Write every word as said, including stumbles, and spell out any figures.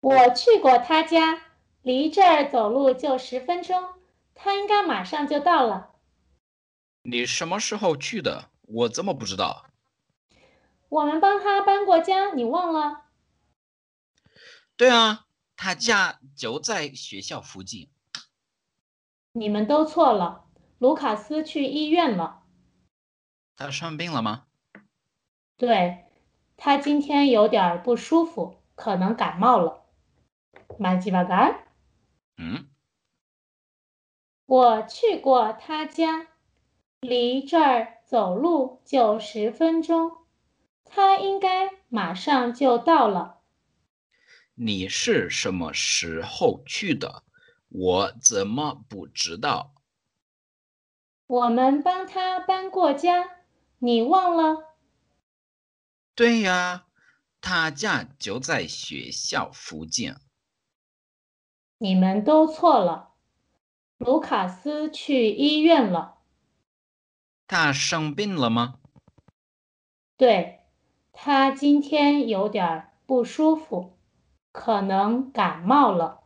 我去过他家，离这儿走路就十分钟，他应该马上就到了。 你什么时候去的？我怎么不知道？ 我们帮他搬过家，你忘了？ 对啊，他家就在学校附近。 你们都错了，卢卡斯去医院了。 他生病了吗？ 对，他今天有点儿不舒服，可能感冒了。蛮鸡巴干。 嗯， 我去过他家，离这儿走路就十分钟，他应该马上就到了。 你是什么时候去的？我怎么不知道？ 我们帮他搬过家，你忘了？ 对呀，他家就在学校附近。 你们都错了，卢卡斯去医院了。 他生病了吗？ 对，他今天有点儿不舒服，可能感冒了。